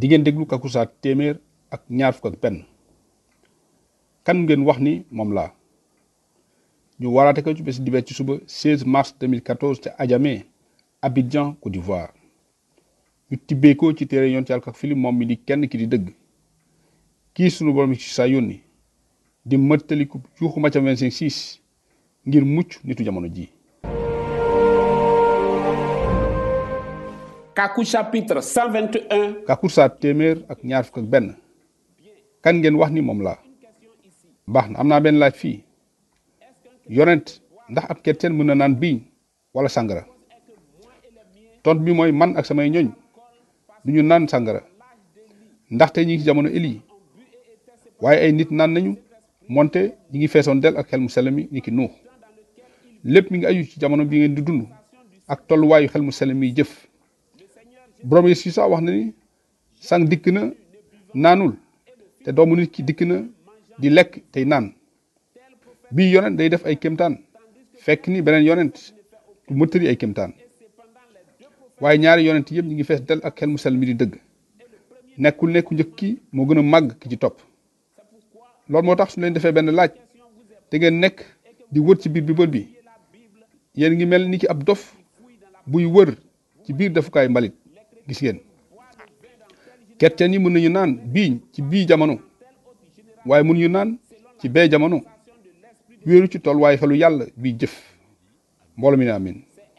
di ngeen déglu Kakusa téeméer ak ñaar fukk ak benn. kan ngeen wax ni moom laa ñu waraate ko ci bés dibéer ci suba 16 mars 2014 ca Adjamé Abidjan Côte d'Ivoire ñu tibbee ko ci téere yoon ci Yàlla Fili moom mi di kenn ki di dëgg kii sunu borom ci saa yónni di mëttaliku juuxu Macca 25:6 ngir mucc nitu jamono ji. Kaku chapitre 121. Kakusa téeméer ak ñaar fukk ak benn. kan ngeen wax ni moom laa baax na am naa benn laaj fii yonent ndax ab chrétien mën na naan biiñ wala sàngara tont bi mooy man ak samay ñoñ du ñu naan sàngara ndaxte ñi ngi ci jamono Eli waaye ay nit naan nañu monte ñi ngi feesoon del ak xel mu sell mi ni ki Nuux lépp mi ngi aju ci jamono bi ngeen di dund ak tolluwaayu xel mu sell mi jëf borom Yeesu sax wax na ni sang dikk na naanul te doomu nit ki dikk na di lekk tey naan bii yonent day def ay kéemtaan fekk ni beneen yonent du mëttali ay kéemtaan waaye ñaari yonent yëpp ñi ngi fees del ak xel mu sell mi di dëgg nekkul nekku njëkk ki moo gën a màgg ki ci topp loolu moo tax su leen defee benn laaj te ngeen nekk di wër ci biir Bible bi yéen ngi mel ni ki ab dof buy wër ci biir defukaay mbalit gis ngeen chrétien yi mën nañu naan biiñ ci bii jamono waaye mënuñu naan ci bee jamono wéeru ci tolluwaay xelu yàlla bii jëf mbooloo mi ne amin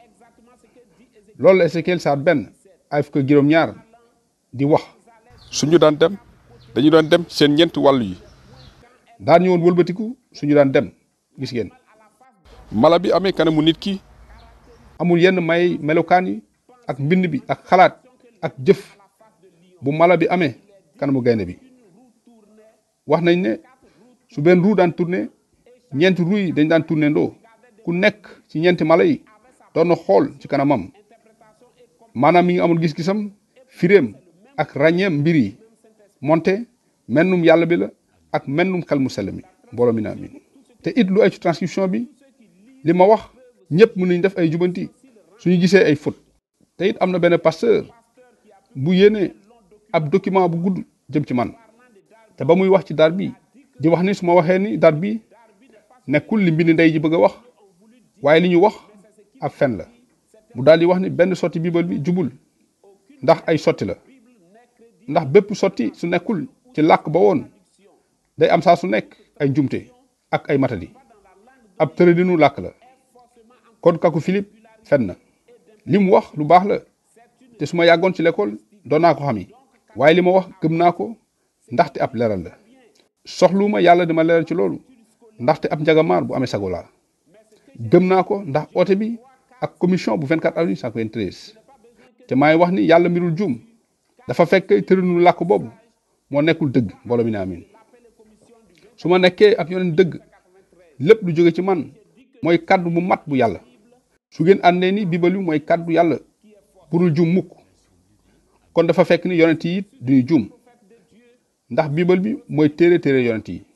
loolu la Ézéchiel saar benn ay fukk ak juróom-ñaar di wax suñu daan dem dañu daan dem ci seen ñeenti wàll yi daan ñëwoon wëlbatiku suñu daan dem gis ngeen mala bi amee kanamu nit ki amul yenn may melokaan yi ak mbind bi ak xalaat ak jëf bu mala bi amee kanamu gaynde bi wax nañ ne su benn ruu daan tourné ñeenti ruu yi dañ daan tourné ndoo ku nekk ci ñeenti mala yi doon na xool ci kanamam maanaam mi ngi amul gis-gisam firéem ak ràññeem mbir yi monte mennum yàlla bi la ak mennum xel mu sell mi mbooloo mi na amin te it lu ay ci transcription bi li ma wax ñëpp mën nañ def ay jubanti suñu gisee ay faute te it am na benn pasteur bu yéene ab document bu gudd jëm ci man te ba muy wax ci dar bi di wax ni su ma waxee ni dar bi nekkul li mbind ndey ji bëgg a wax waaye li ñu wax ab fen la mu daal di wax ni benn sotti Bible bi jubul ndax ay sotti la ndax bépp sotti su nekkul ci làkk ba woon day am saa su nekk ay njumte ak ay matadi ab tërëdinu làkk la kon Kaku Philippe fen na li mu wax lu baax la te su ma yàggoon ci l'école doon naa ko xami waaye li ma wax gëm naa ko ndaxte ab leeral la soxluuma yàlla dama leeral ci loolu ndaxte ab njagamaar bu amee sago laa gëm naa ko ndax oote bi ak commission bu 24 avril 1993 te maay wax ni yàlla mbirul juum dafa fekk tërëdinu làkk boobu moo nekkul dëgg mbooloo mi ne amin su ma nekkee ab yonent dëgg lépp lu jóge ci man mooy kàddu bu mat bu yàlla su ngeen àndee ni Bible bi mooy kàddu yàlla burul juum mukk kon dafa fekk ni yonent yi duñu juum ndax Bible bi mooy téere yonent yi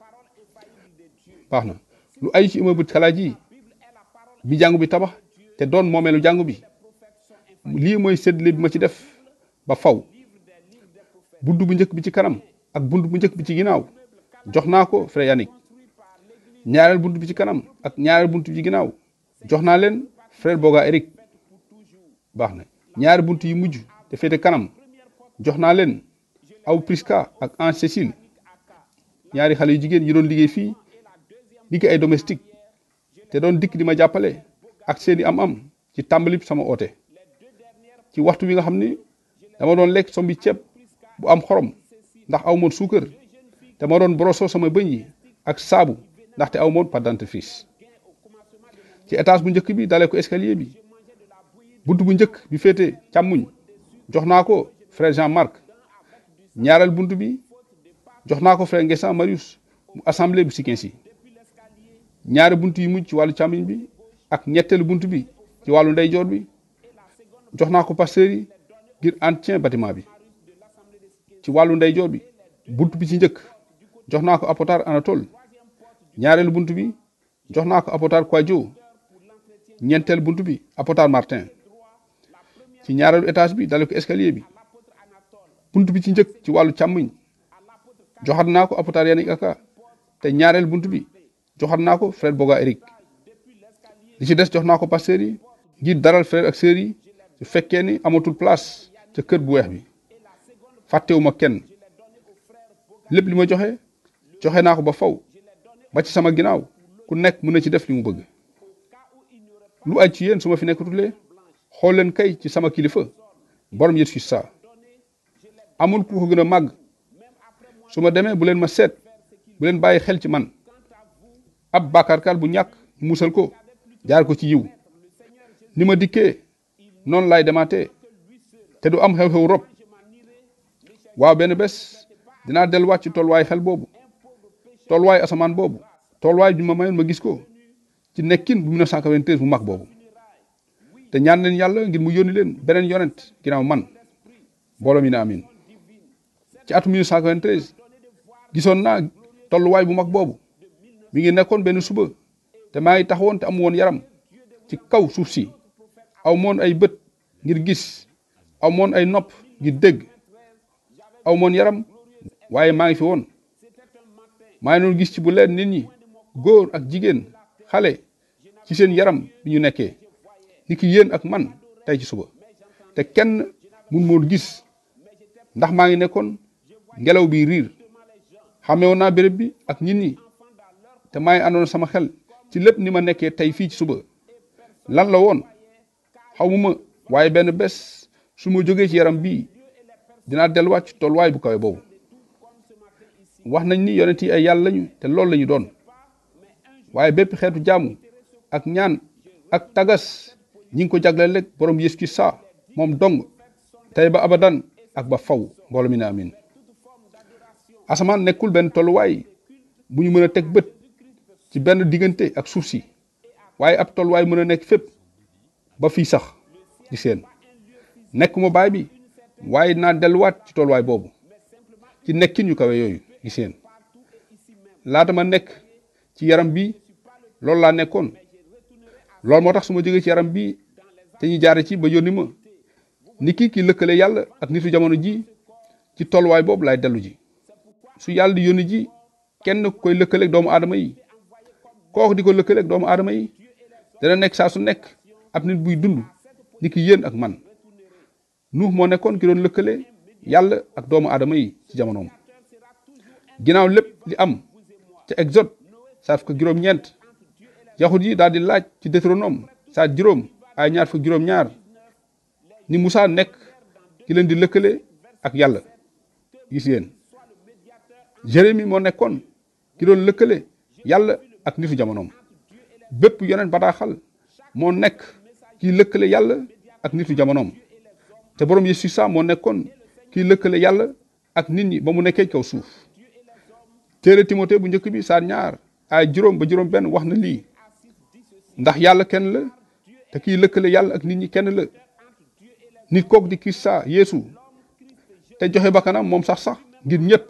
baax na lu ay ci immeuble xalaat yi bi jàngu bi tabax te doon moomeelu jàngu bi lii mooy séddale bi ma ci def ba faw bunt bu njëkk bi ci kanam ak bunt bu njëkk bi ci ginnaaw jox naa ko frère Yannick ñaareel bunt bi ci kanam ak ñaareel bunt bi ci ginnaaw jox naa leen frère Boga Eric baax na ñaari bunt yi mujj te féete kanam jox naa leen aw Priska ak Ange Cécile ñaari xale yu jigéen yi doon liggéey fii liggéey ay domestique te doon dikk di ma jàppale ak seeni am-am ci tàmbali sama oote ci waxtu wi nga xam ni dama doon lekk sombi ceeb bu am xorom ndax aw moon suukar te ma doon broso sama bëñ yi ak saabu ndaxte aw moon pâte dentifrice ci étage bu njëkk bi dalee ko escalier bi bunt bu njëkk bi féete càmmuñ jox naa ko frère Jean-Marc ñaareel bunt bi jox naa ko frère Nguessan Marius mu assemblée bu Sikinsi ñaari bunt yi mujj ci wàllu càmmuñ bi ak ñetteelu bunt bi ci wàllu ndeyjoor bi jox naa ko pasteur yi ngir entretien bâtiment bi ci wàllu ndeyjoor bi bunt bi ci njëkk jox naa ko apotar Anatole ñaareelu bunt bi jox naa ko apotar Kwadjo ñeenteel bunt bi apotar Martin ci ñaareelu étage bi dale ko escalier bi bunt bi ci njëkk ci wàllu càmmiñ joxat naa ko apôtre Yannick Aka te ñaareel bunt bi joxat naa ko frère Boga Eric li ci des jox naa ko pasteur yi ngir daral frère ak sœur yi su fekkee ni amatul place ca kër bu weex bi fàttewuma kenn lépp li ma joxe naa ko ba faw ba ci sama ginnaaw ku nekk mën na ci def li mu bëgg lu aj ci yéen su ma fi nekkatulee xool leen kay ci sama kilifa borom Yeesu Kirist amul ku ko gën a màgg su ma demee bu leen ma seet bu leen bàyyi xel ci man ab bàkkaarkat bu ñàkk musal ko jaar ko ci yiw ni ma dikkee noonu laay demaatee te du am xew-xew rob waaw benn bés dinaa delluwaat ci tolluwaay xel boobu tolluwaay asamaan boobu tolluwaay bi ma mayoon ma gis ko ci nekkin bu 1993 bu mag boobu te ñaan leen yàlla ngir mu yónni leen beneen yonent ginnaaw man mbooloo mi ne amin ci atum 1993 gisoon naa tolluwaay bu mag boobu mi ngi nekkoon benn suba te maa ngi taxawoon te amu woon yaram ci kaw suuf si aw moon ay bët ngir gis aw moon ay nopp ngir dégg aw moon yaram waaye maa ngi fi woon maa ngi doon gis ci bu leen nit ñi góor ak jigéen xale ci seen yaram bi ñu nekkee ni ki yéen ak man tey ci suba te kenn mun moon gis ndax maa ngi nekkoon ngelaw bi riir xamewoon naa béréb bi ak nit ñi te maa ngi àndoon sama xel ci lépp ni ma nekkee tey fii ci suba lan la woon xawma waaye benn bés su ma jógee ci yaram bii dinaa delluwaat ci tolluwaay bu kawe boobu wax nañ ni yonent yi ay yàlla lañu te loolu lañu doon waaye bépp xeetu jaamu ak ñaan ak tagas ñi ngi ko jagleel rek borom Yeesu Kirist moom dong tey ba abadan ak ba faw mbooloo mi ne amin asamaan nekkul benn tolluwaay bu ñu mën a teg bët ci benn diggante ak suuf si waaye ab tolluwaay mën a nekk fépp ba fii sax ci seen nekk ma baay bi waaye naa delluwaat ci tolluwaay boobu ci nekkin yu kawe yooyu ci seen laata ma nekk ci yaram bi loolu laa nekkoon loolu moo tax su ma jógee ci yaram bi te ñu jaare ci ba yónni ma ni ki lëkkale yàlla ak nitu jamono ji ci tolluwaay boobu laay dellu ji su yàlla di yónni ji kenn koy lëkkaleeg doomu aadama yi kooku di ko lëkkaleeg doomu aadama yi dana nekk saa su nekk ab nit buy dund ni ki yéen ak man Nuux moo nekkoon ki doon lëkkale yàlla ak doomu aadama yi ci jamonoom ginnaaw lépp li am ca Exode saar fukk juróom-ñeent yaxut yi daal di laaj ci Deutéronome saar juróom ay ñaar fukk juróom-ñaar ni Musaa nekk ki leen di lëkkale ak yàlla gis yéen Jérémie moo nekkoon ki doon lëkkale yàlla ak nitu jamonoom bépp yonent bataaxal moo nekk ki lëkkale yàlla ak nitu jamonoom te borom Yeesu Kirist moo nekkoon ki lëkkale yàlla ak nit ñi ba mu nekkee kaw suuf téere Timothée bu njëkk bi saar ñaar ay juróom ba juróom benn wax na lii ndax yàlla kenn la te kiy lëkkale yàlla ak nit ñi kenn la nit kook di Kirist Yeesu te joxe bakkanam moom sax ngir ñëpp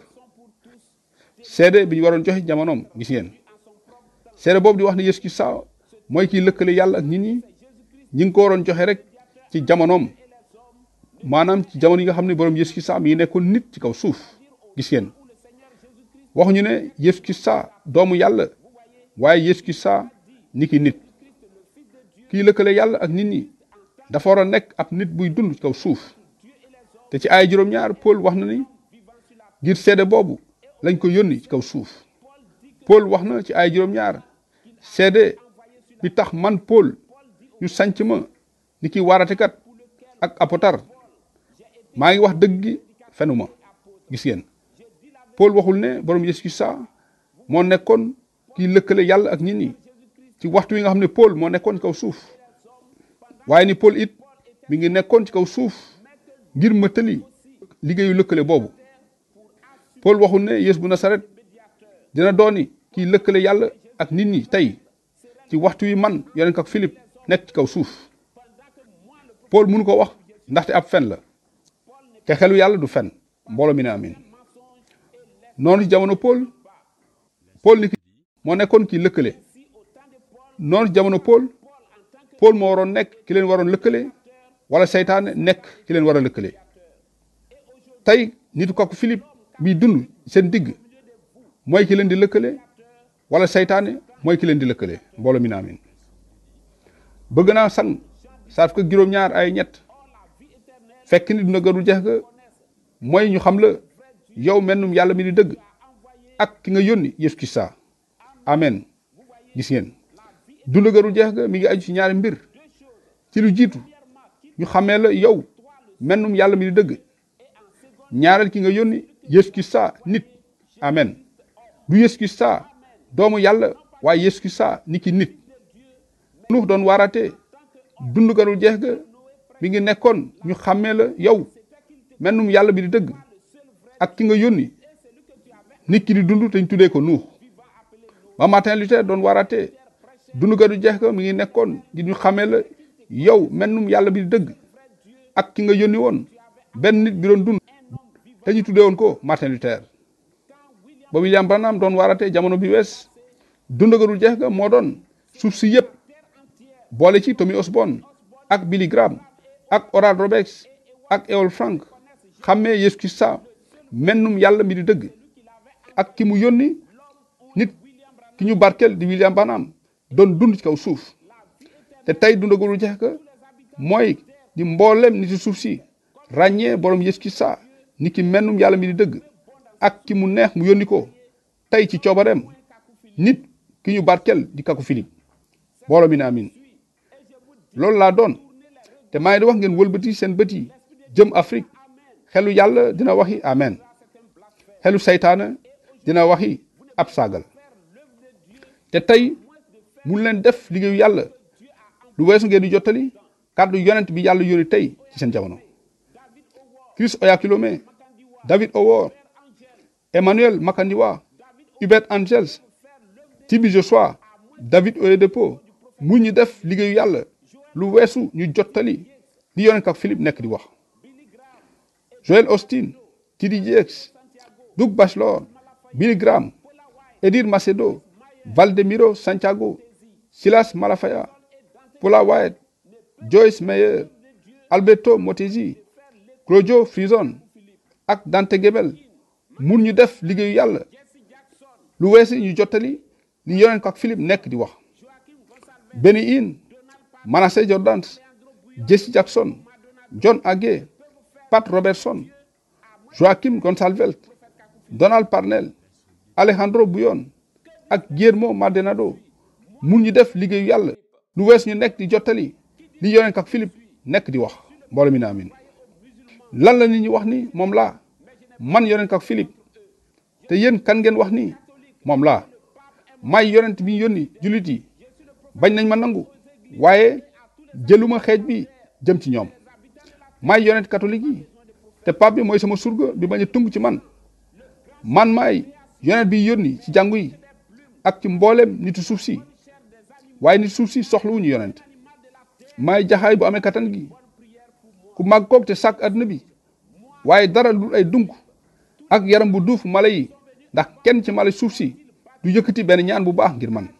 seede bi ñu waroon joxe jamonoom gis ngeen seede boobu di wax ne Yeesu Kirist mooy kiy lëkkale yàlla ak nit ñi ñi ngi ko waroon joxe rek ci jamonoom maanaam ci jamono yi nga xam ne borom Yeesu Kirist mi ngi nekkoon nit ci kaw suuf gis ngeen waxuñu ne Yeesu Kirist doomu yàlla waaye Yeesu Kirist ni ki nit kiy lëkkale yàlla ak nit ñi dafa war a nekk ab nit buy dund ci kaw suuf te ci ay juróom-ñaar Paul wax na ni ngir seede boobu lañ ko yónni ci kaw suuf Paul wax na ci ay juróom-ñaar seede bi tax man Paul ñu sanc ma ni ki waaratekat ak apotar maa ngi wax dëgg gi fenuma gis ngeen Paul waxul ne borom Yeesu Kirist moo nekkoon kiy lëkkale yàlla ak nit ñi ci waxtu yi nga xam ne Paul moo nekkoon ci kaw suuf waaye ni Paul it mi ngi nekkoon ci kaw suuf ngir mëtali liggéeyu lëkkale boobu Paul waxul ne Yeesu bu Nasaret dina dooni kiy lëkkale yàlla ak nit ñi tey ci waxtu yi man yonent ak Philippe nekk ci kaw suuf Paul mënu ko wax ndaxte ab fen la te xelu yàlla du fen mbooloo mi ne amin noonu ci jamono Paul ni ki moo nekkoon ki lëkkale noonu ci jamono Paul moo waroon nekk ki leen waroon lëkkale wala seytaane nekk ki leen war a lëkkale tey nitu kooku Philippe bi dund seen digg mooy ki leen di lëkkale wala seytaane mooy ki leen di lëkkale mbooloo mi na amin bëgg naa sang saaf ko juróom-ñaar ay ñett fekk ni duna gënul jeex ga mooy ñu xam la yow mennum yàlla mi di dëgg ak ki nga yónni Yeesu Kirista amen gis ngeen dund gënul jeex ga mi ngi aju ci ñaari mbir ci lu jiitu ñu xamee la yow mennum yàlla mi di dëgg ñaareel ki nga yónni Yeesu Kirista nit amen du Yeesu Kirista doomu yàlla waaye Yeesu Kirista ni ki nit Nuux doon waarate dund garul jeex ga mi ngi nekkoon ñu xàmmee la yow mennum yàlla bi di dëgg ak ki nga yónni nit ki di dund te ñu tuddee ko Nuux ba Martin Luther doon waarate dund garul jeex ga mi ngi nekkoon di ñu xàmmee la yow mennum yàlla bi di dëgg ak ki nga yónni woon benn nit bi doon dund te ñu tuddee woon ko Martin Luther ba William Branham doon waarate jamono bi wees dund garul jeex ga moo doon suuf si yëpp boole ci Tommy Osborne ak Billy Graham ak Oral Roberts ak Eol Frank xàmmee Yeesu Kirista mennum yàlla mi di dëgg ak ki mu yónni nit ki ñu barkel di William Branham doon dund ci kaw suuf te tey dundagul jeex ka mooy di mboolem nit ci suuf si ràññee borom Yeesu Kirista ni ki mennum yàlla mi di dëgg ak ki mu neex mu yónni ko tey ci coobareem nit ki ñu barkel di kaku Philippe booloo mi ne amin loolu laa doon te maa ngi di wax ngeen wëlbati seen bët yi jëm Afrique xelu yàlla dina waxi amen xelu seytaane dina waxi ab saagal te tey mun leen def liggéeyu yàlla lu weesu ngeen di jottali kàddu yonent bi yàlla yónni tey ci seen jamono Chris Oyakhilome David Howard Emmanuel Makandiwa Hubert Angels Tibi Joshua David Oyedepo mu ñu def liggéeyu yàlla lu weesu ñu jottali li yonent ak Philippe nekk di wax Joel Austin T.D. Jakes Doug Batchelor Billy Graham Edir Macedo Valdemiro Santiago Silas Malafaya Paula White Joyce Meyer Alberto Motesi Claudio Frison ak Dante Gebel mun ñu def liggéeyu yàlla lu weesu ñu jottali li yonent ak Philippe nekk di wax Benny Hinn Manasseh Jordans Jesse Jackson John Hagee Pat Robertson Joaquim Gonsalves Donald Parnell Alejandro Buyon ak Guillermo Maldonado mun ñu def liggéeyu yàlla lu wees ñu nekk di jottali li yonent ak Philippe nekk di wax mbooloo mi na amin lan la nit ñi wax ni moom laa man yonent ak Philippe te yéen kan ngeen wax ni moom laa may yonent bi yónni jullit yi bañ nañ ma nangu waaye jëluma xeej bi jëm ci ñoom may yonent catholique yi te pape bi mooy sama surga bi bañ a tung ci man may yonent bi yónni ci jàngu yi ak ci mboolem nitu suuf si waaye nit suuf si soxlawuñu yonent may jaxaay bu amee kattan gi ku màgg koog te sàkk àdduna bi waaye dara lu ay dunk ak yaram bu duuf mala yi ndax kenn ci mala suuf si du yëkkati benn ñaan bu baax ngir man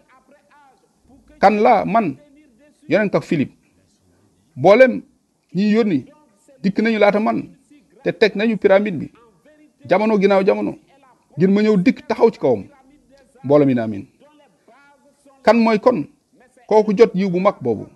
kan laa man yonent ak Philippe mboolem ñi yónni dikk nañu laata man te teg nañu pyramide bi jamono ginnaaw jamono ngir ma ñëw dikk taxaw ci kawam mbooloo mi na amin kan mooy kon kooku jot yiw bu mag boobu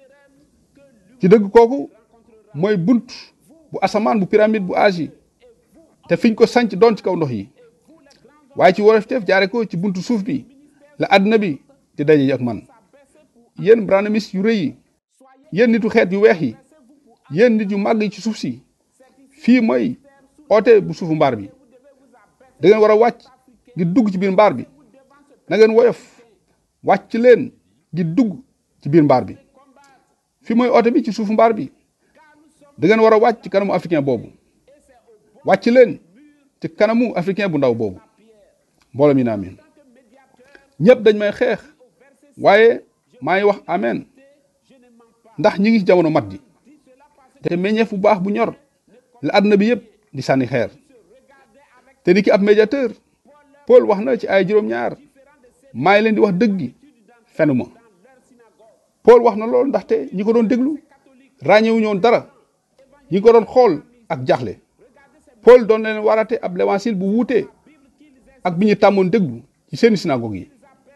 ci dëgg kooku mooy bunt bu asamaan bu pyramide bu Asie te fiñ ko sanc doon ci kaw ndox yi waaye ci worofteef jaare ko ci buntu suuf bi la àdduna bi di daje ak man yéen branamis yu rëy yi yéen nitu xeet yu weex yi yéen nit yu màgg yi ci suuf si fii mooy oote bu suufu mbaar bi da ngeen war a wàcc ngir dugg ci biir mbaar bi na ngeen woyof wàcc leen ngir dugg ci biir mbaar bi fii mooy oote bi ci suufu mbaar bi da ngeen war a wàcc ci kanamu africain boobu wàcc leen ci kanamu africain bu ndaw boobu mbooloo mi na amin ñëpp dañ may xeex waaye maa ngi wax amen ndax ñi ngi ci jamono mat ji te meññeef bu baax bu ñor la àdduna bi yëpp di sànni xeer te ni ki ab médiateur Paul wax na ci ay juróom-ñaar maa ngi leen di wax dëgg gi fenuma Paul wax na loolu ndaxte ñi ko doon déglu ràññewuñu woon dara ñi ko doon xool ak jaaxle Paul doon leen warate ab l'évangile bu wuute ak bi ñu tàmmoon déglu ci seeni synagogue yi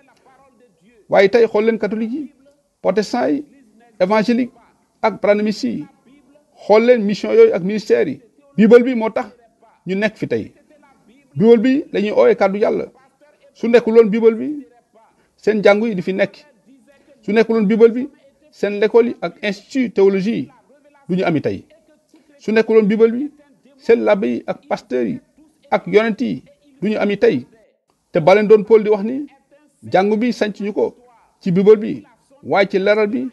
waaye tey xool leen catholique yi protestant yi évangélique ak branhamistes yi xool leen mission yooyu ak ministère yi bible bi moo tax ñu nekk fi tey bible bi lañuy ooyee kàddu yàlla su nekkuloon bible bi seen jàngu yi di fi nekk su nekkuloon bible bi seen l'école yi ak institut théologie yi du ñu ami tey su nekkuloon bible bi seen labbe yi ak pasteur yi ak yonent yi du ñu ami tey te baleen doon Paul di wax ni jàngu bi sanc ñu ko ci bible bi waaye ci leeral bi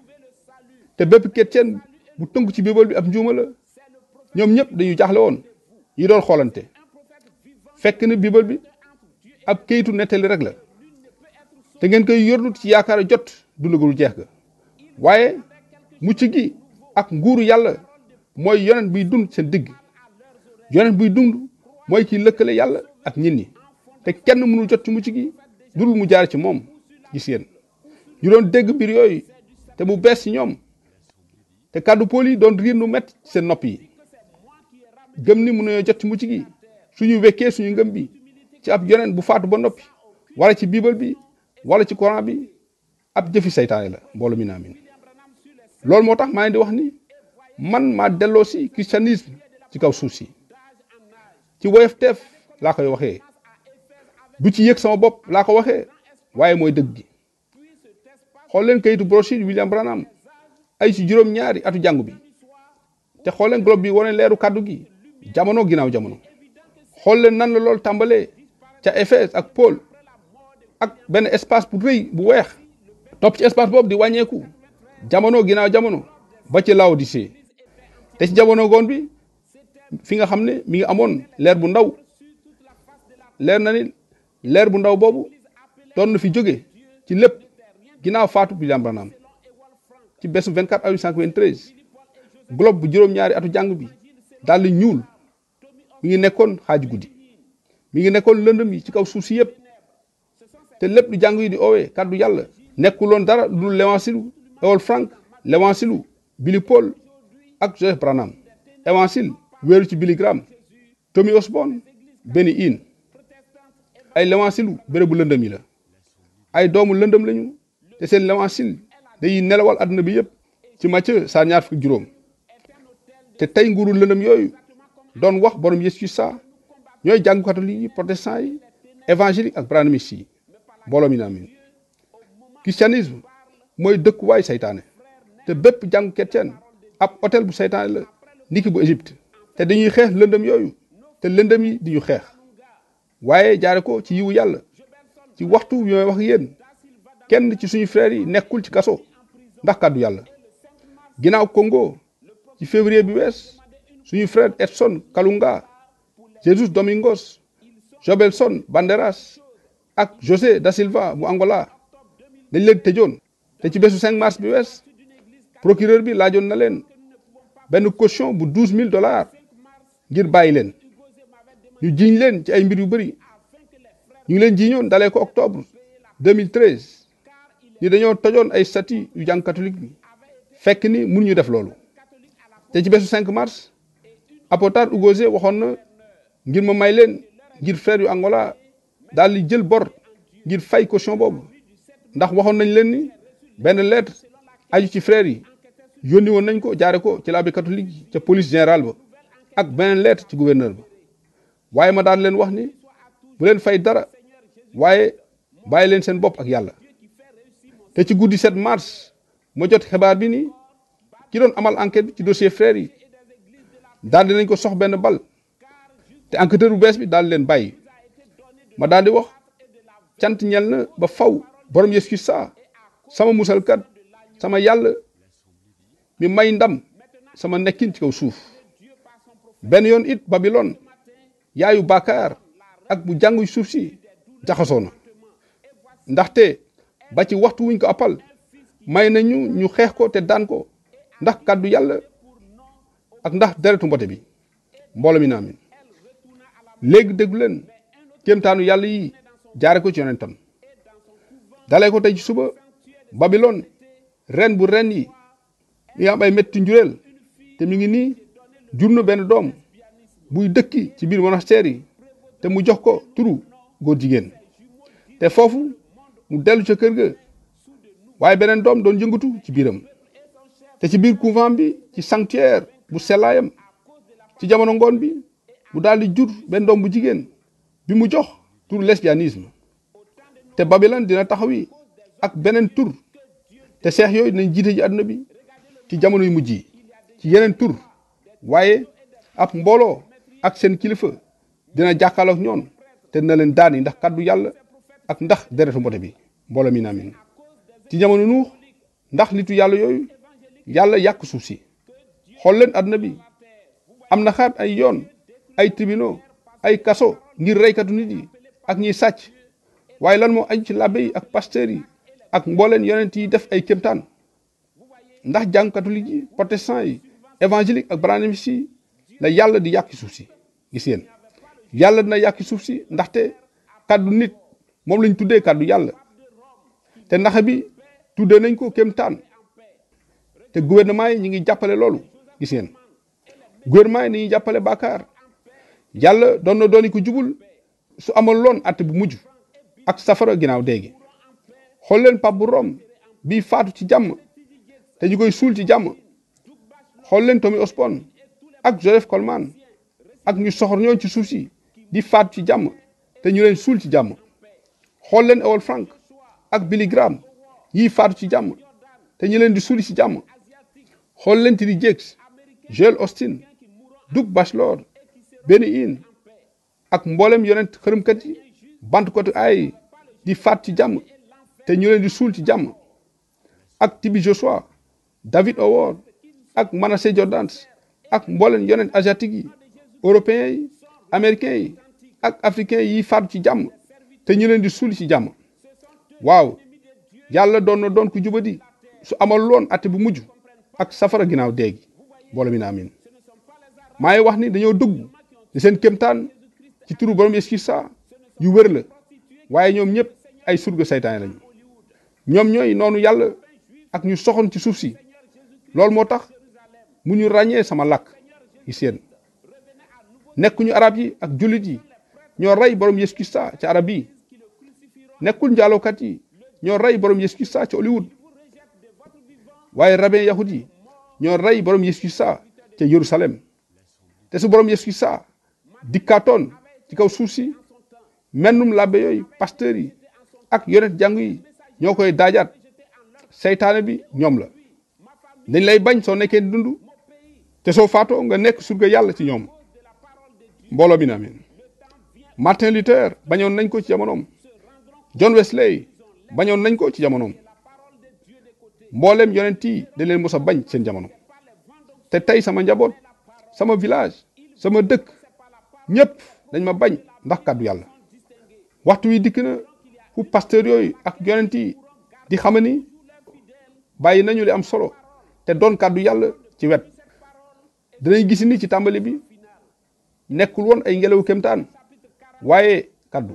te bépp chrétien bu tënk ci bible bi ab njuuma la ñoom ñëpp dañu jaaxle woon yi doon xoolante fekk na bible bi ab kayitu nettali rek la te ngeen koy yorlu ci yaakaar jot dundagul jeex ga waaye mucc gi ak nguuru yàlla mooy yonent buy dund seen digg yonent buy dund mooy ki lëkkale yàlla ak nit ñi te kenn mënul jot ci mucc gi dul mu jaar ci moom gis ngeen ñu doon dégg mbir yooyu te mu bees ci ñoom te kàddu Paul yi doon riir nu met seen nopp yi gëm ni mënuñoo jot ci mucc gi suñu wekkee suñu ngëm bi ci ab yonent bu faatu ba noppi wala ci bible bi wala ci Coran bi ab jëfi saytaane la mbooloo mi naamin loolu moo tax maa ngi di wax ni man maa delloo si christianisme ci kaw suuf si ci woyofteef laa koy waxee du ci yëg sama bopp laa ko waxee waaye mooy dëgg gi xool leen kayitu brochure William Branham ay ci juróom-ñaari atu jàngu bi te xool leen globe bi wane leeru kàddu gi jamono ginnaaw jamono xool leen nan la loolu tàmbalee ca Éphèse ak Paul ak benn espace bu rëy bu weex topp ci espace boobu di wàññeeku jamono ginnaaw jamono ba ci Laodicée te ci jamono goon bi fi nga xam ne mi ngi amoon leer bu ndaw leer na ni leer bu ndaw boobu doon na fi jóge ci lépp ginnaaw faatu William Branham ci bésu 24 avril 1993 globe bu juróom-ñaari atu jàng bi daal di ñuul mi ngi nekkoon xaaju guddi mi ngi nekkoon lëndëm yi ci kaw suuf si yëpp te lépp lu jàng yi di oowee kàddu yàlla nekkuloon dara lu dul l'évangile Ewol Frank l'évangile Billy Paul ak Joseph Branham évangile wéeru ci Billy Graham Tommy Osborne Benny Hinn ay l'évangile béréb bu lëndëm yi la ay doomu lëndëm lañu te seen l'évangile day nelawal àdduna bi yëpp ci Matthieu saar ñaar fukk juróom te tey nguuru lëndëm yooyu doon wax borom Yeesu sa ñooy jàngu catholique yi protestant yi évangélique ak branhamistes yi mbooloo mi naamin christianisme mooy dëkkuwaay saytaane te bépp jàngu chrétien ab hôtel bu saytaane la niki bu Égypte te dañuy xeex lëndëm yooyu te lëndëm yi di ñu xeex waaye jaare ko ci yiwu yàlla ci waxtu yu may wax yéen kenn ci suñu frères yi nekkul ci kaso ndax kàddu yàlla ginnaaw Congo ci février bi wees suñu frère Edson Kalunga Jesus Domingos Jobelson Banderas ak José da Silva bu Angola dañ leen tëjoon te ci bésu 5 mars bi wees procureur bi laajoon na leen benn caution bu $12,000 ngir bàyyi leen ñu jiiñ leen ci ay mbir yu bëri ñu ngi leen jiiñoon dalee ko octobre 2013 ni dañoo tojoon ay statues yu jàng catholique bi fekk ni mun ñu def loolu te ci bésu 5 mars Apotar Ugose waxoon na ngir ma may leen ngir frère yu Angola daal di jël bor ngir fay caution boobu ndax waxoon nañ leen ni benn lettre aju ci frère yi yónni woon nañ ko jaare ko ci l'abbé catholique yi ca police générale ba ak beneen lettre ci gouverneur ba waaye ma daan leen wax ni bu leen fay dara waaye bàyyi leen seen bopp ak yàlla te ci guddi 7 mars ma jot xibaar bi ni ki doon amal enquête bi ci dossier frère yi daal di nañ ko sox benn bal te enquêteur bu bees bi daal di leen bàyyi ma daal di wax cant ñel na ba faw borom Yeesu sa sama musalkat sama yàlla mi may ndam sama nekkin ci kaw suuf benn yoon it Babylone yaayu bàkkaar ak bu jàngu suuf si jaxasoo na ndaxte ba ci waxtu wuñ ko appal may nañu ñu xeex ko te daan ko ndax kàddu yàlla ak ndax deretu mbote bi mbooloo mi naamin léegi déglu leen kéemtaanu yàlla yi jaare ko ci yonentam dalee ko tey ci suba Babylone ren bu ren yi mi am ay metti njureel te mi ngi nii jur na benn doom buy dëkki ci biir monastère yi te mu jox ko turu góor jigéen te foofu mu dellu ca kër ga waaye beneen doom doon yëngatu ci biiram te ci biir couvent bi ci sanctuaire bu sellaayam ci jamono ngoon bi mu daal di jur benn doom bu jigéen bi mu jox turu lesbianisme te Babylone dina taxawi ak beneen tur te seex yooyu dinañ jiite ji àdduna bi ci jamono yu mujj yi ci yeneen tur waaye ab mbooloo ak seen kilifa dina jàkkaarloog ñoon te dina leen daani ndax kàddu yàlla ak ndax deretu mbote bi mbooloo mi naamin ci jamono nuux ndax nitu yàlla yooyu yàlla yàq suuf si xool leen àdduna bi am na xaat ay yoon ay tribunaux ay kaso ngir reykatu nit yi ak ñiy sàcc waaye lan moo aju ci labbe yi ak pasteur yi ak mbooleen yonent yi def ay kéemtaan ndax jàng catholique yi protestant yi évangélique ak branhimiste yi la yàlla di yàqi suuf si gis ngeen yàlla dina yàqi suuf si ndaxte kàddu nit moom lañ tuddee kàddu yàlla te ndax bi tuddee nañ ko kéemtaan te gouvernement yi ñi ngi jàppale loolu gis ngeen gouvernement yi ni ñuy jàppale bàkkaar yàlla doon na dooni ko jubul su amoon loon at bu mujj ak safara ginnaaw déegi xool leen Pape bu Rome bii faatu ci jàmm te ñu koy suul ci jàmm xool leen Tommy Osborne ak Joseph Coleman ak ñu soxor ñoo ci suuf si di faatu ci jàmm te ñu leen suul ci jàmm xool leen Ewell Frank ak Billy Graham yii faatu ci jàmm te ñu leen di suuli ci jàmm xool leen T.D. Jakes Joel Austin Doug Batchelor Benny Hinn ak mboolem yonent xërëmkat yi bantkatu ay di faat ci jàmm te ñu leen di suul ci jàmm ak T.B. Joshua David Howard ak Manasseh Jordans ak mboolem yonent asiatique yi européens yi américains yi ak africains yi faatu ci jàmm te ñu leen di suul ci jàmm waaw yàlla doon na doon ku jubadi su amal loon ate bu mujj ak safara ginnaaw déegi boole mi na amin maa ngi wax ni dañoo dugg di seen kéemtaan ci turu borom Yeesu Kirista yu wér la waaye ñoom ñëpp ay surga saytaane lañu ñoom ñooy noonu yàlla ak ñu soxon ci suuf si loolu moo tax mu ñu ràññee sama làkk yi seen nekkuñu arab yi ak jullit yi ñoo rey borom Yeesu Kirista ci arab yi nekkul njaalookat yi ñoo rey borom Yeesu Kirista ci Hollywood waaye rabbin yahud yi ñoo rey borom Yeesu Kirista ca Yerusalem te su borom Yeesu Kirista dikkaatoon ci kaw suuf si mennum labbe yooyu pasteur yi ak yonent jàngu yi ñoo koy daajaat seytaane bi ñoom la dañ lay bañ soo nekkee dund te soo faatoo nga nekk surga yàlla ci ñoom mbooloo bi na amin Martin Luther bañoon nañ ko ci jamonoom John Wesley bañoon nañ ko ci jamonoom mboolem yonent yi da leen mos a bañ seen jamono te tey sama njaboot sama village sama dëkk ñëpp dañ ma bañ ndax kàddu yàlla waxtu wi dikk na fu pasteur yooyu ak yonent yi di xam ni bàyyi nañu li am solo te doon kàddu yàlla ci wet dinañ gis ni ci tàmbali bi nekkul woon ay ngelaw kéemtaan waaye kàddu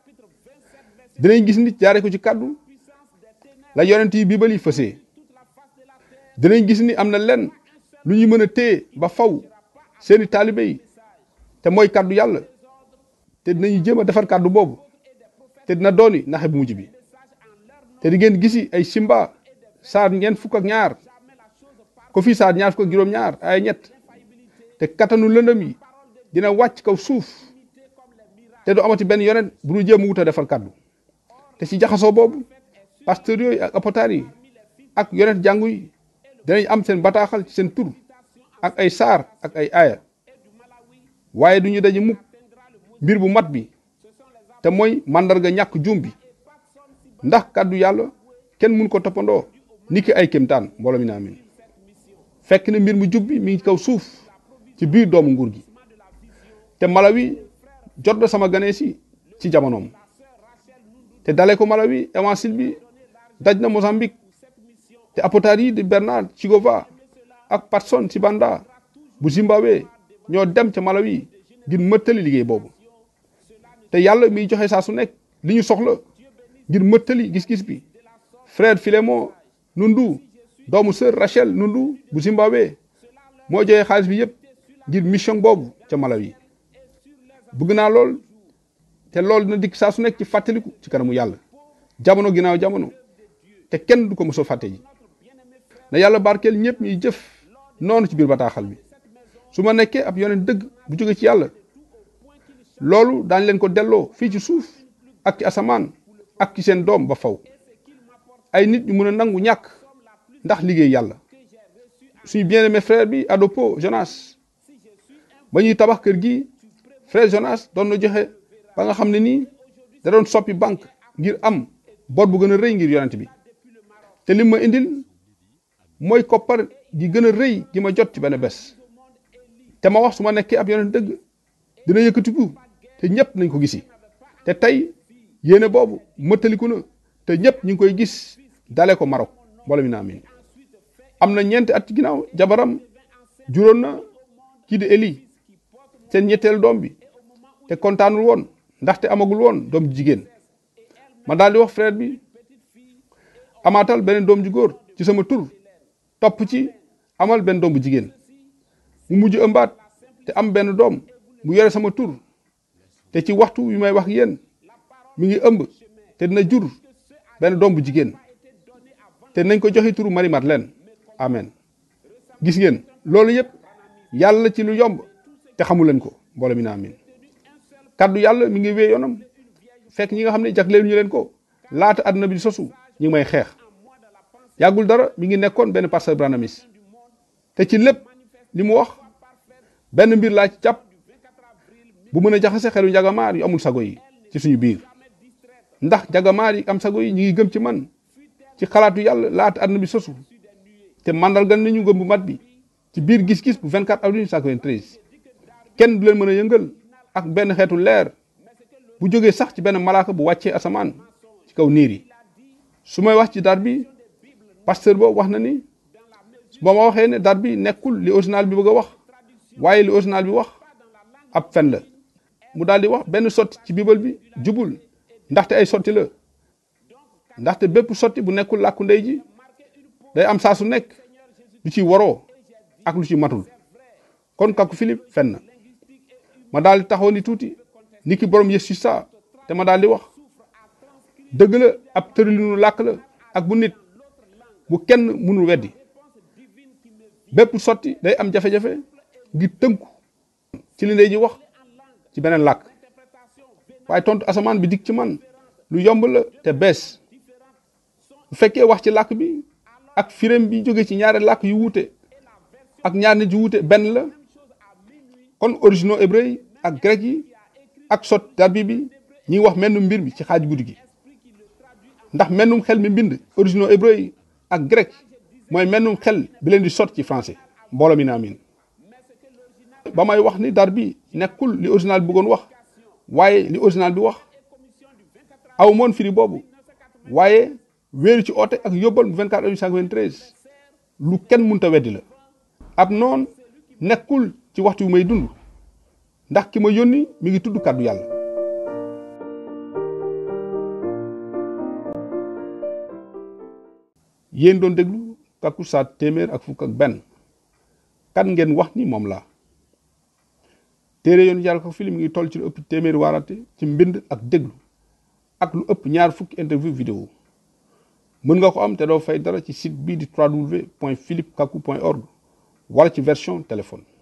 dinañ gis ni jaare ko ci kàddu la yonent yi biibal yi fësee dinañ gis ni am na lenn lu ñu mën a téye ba faw seeni taalibe yi te mooy kàddu yàlla te dinañu jéem a defar kàddu boobu te dina dooni naxe bu mujj bi te di ngeen gisi ay simba saar ñeent fukk ak ñaar ko fii saar ñaar fukk ak juróom-ñaar ay ñett te kattanu lëndëm yi dina wàcc kaw suuf te du amati benn yonent bu ñu jéem a wut a defar kàddu te ci jaxasoo boobu pasteur yooyu ak apotaar yi ak yonent jàngu yi dinañ am seen bataaxal ci seen tur ak ay saar ak ay aaya waaye du ñu daje mukk mbir bu mat bi te mooy màndarga ñàkk juum bi ndax kàddu yàlla kenn mun ko toppandoo niki ay kéemtaan mbooloo mi na amin fekk ne mbir mu jub bi mi ngi kaw suuf ci biir doomu nguur gi te Malawi jot na sama ganee si ci jamonoom te dale ko Malawi évangile bi daj na Mozambique te apotaar yi di Bernard Chigova ak Patson Sibanda bu Zimbabwe ñoo dem ca Malawi ngir mëttali liggéey boobu te yàlla miy joxe saa su nekk li ñu soxla ngir mëttali gis-gis bi frère Philémon Nundu doomu sœur Rachel Nundu bu Zimbabwe moo joxe xaalis bi yépp ngir mission boobu ca Malawi bëgg naa lool te loolu dina dikk saa su nekk ci fàttaliku ci kanamu yàlla jamono ginnaaw jamono te kenn du ko mos a fàtte ji na yàlla barkeel ñëpp ñuy jëf noonu ci biir bataaxal bi su ma nekkee ab yonent dëgg bu jóge ci yàlla loolu daañ leen ko delloo fii ci suuf ak ci asamaan ak ci seen doom ba faw ay nit ñu mën a nangu ñàkk ndax liggéey yàlla suñu bien-aimé frère bi Adopo Jonas ba ñuy tabax kër gi frère Jonas doon na joxe ba nga xam ne nii da doon soppi banque ngir am bor bu gën a rëy ngir yonent bi te lim ma indil mooy koppar gi gën a rëy gi ma jot ci benn bés te ma wax su ma nekkee ab yonent dëgg dina yëkkatiku te ñëpp nañ ko gisi te tey yéene boobu mëttaliku na te ñëpp ñu ngi koy gis dale ko Maroc mbooloo mi na amin am na ñeenti at ci ginnaaw jabaram juróon na kii di Eli seen ñetteel doom bi te kontaanul woon ndaxte amagul woon doom ju jigéen ma daal di wax frère bi amaatal beneen doom ju góor ci sama tur topp ci amal benn doom bu jigéen mu mujj ëmbaat te am benn doom mu yore sama tur te ci waxtu yu may wax yéen mi ngi ëmb te dina jur benn doom bu jigéen te nañ ko joxe turu Marie Madeleine amen gis ngeen loolu yëpp yàlla ci lu yomb te xamu leen ko mbooloo mi na amin kaddu yàlla mi ngi wéy yoonam fekk ñi nga xam ne jagleel ñu leen ko laata àdduna bi di sosu ñu ngi may xeex yàggul dara mi ngi nekkoon benn pasteur branamis te ci lépp li mu wax benn mbir laa ci jàpp bu mën a jaxase xelu njagamaar yu amul sago yi ci suñu biir ndax njagamaar yi am sago yi ñu ngi gëm ci man ci xalaatu yàlla laata àdduna bi sosu te mandargal nañu gëm bu mat bi ci biir gis-gis bu 24 avril 1993 kenn du leen mën a yëngal ak benn xeetu leer bu jógee sax ci benn malaaka bu wàccee asamaan ci kaw niir yi su may wax ci dar bi pasteur boobu wax na ni ba ma waxee ne dar bi nekkul li original bi bëgg a wax waaye li original bi wax ab fen la mu daal di wax benn sotti ci bible bi jubul ndaxte ay sotti la ndaxte bépp sotti bu nekkul làkku ndey ji day am saa su nekk lu ci waroo ak lu ci matul kon kàkku Philippe fen na ma daal di taxaw ni tuuti ni ki borom Yeesu sa te ma daal di wax dëgg la ab tëralinu làkk la ak bu nit bu kenn mënul weddi bépp sotti day am jafe-jafe ngir tënku ci li ndey ji wax ci beneen làkk waaye tontu asamaan bi dik ci man lu yomb la te bees bu fekkee wax ci làkk bi ak firam bi jóge ci ñaari làkk yu wuute ak ñaar nit yu wuute benn la kon originaux hébreu yi ak grec yi ak sot darbi bi ñi wax mennum mbir bi ci xaaj guddi gi ndax mennum xel mi mbind originaux hébreu yi ak grec mooy mennum xel bi leen di sot ci français mbooloo mi na amin ba may wax ni dar bi nekkul li original bi bëggoon wax waaye li original bi wax aw moon firi boobu waaye wéeru ci oote ak yóbbal bu 24 avril 1993 lu kenn munta weddi la ab noon nekkul ci waxtu yu may dund ndax ki ma yónni mi ngi tudd kàddu yàlla yéen doon déglu Kàkku Saa téeméer ak fukk ak benn kan ngeen wax ni moom la téere yoonu yàlla ko film mi ngi toll ci lu ëpp téeméeri waarate ci mbind ak déglu ak lu ëpp ñaar fukki interview vidéo mën nga ko am te doo fay dara ci site bii di www.philippekakku.org wala ci version téléphone